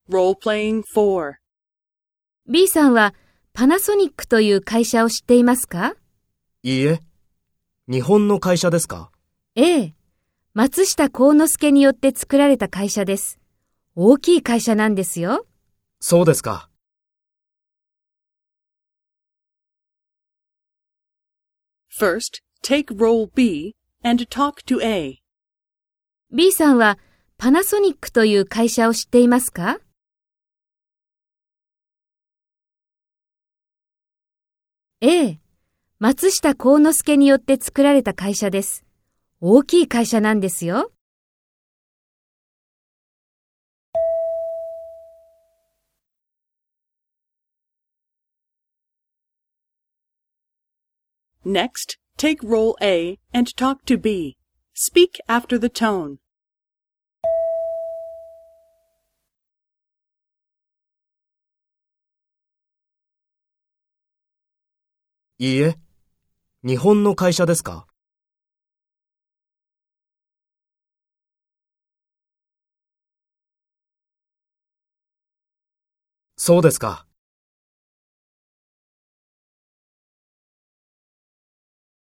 Role-playing 4. B さんはパナソニックという会社を知っていますか？ いいえ。日本の会社ですか？ ええ。松下幸之助によって作られた会社です。大きい会社なんですよ。 そうですか。 First, take role B and talk to A. B さんはパナソニックという会社を知っていますか？ええ。松下幸之助によって作られた会社です。大きい会社なんですよ。 Next, take role A and talk to B. Speak after the tone. いいえ。日本の会社ですか？そうですか。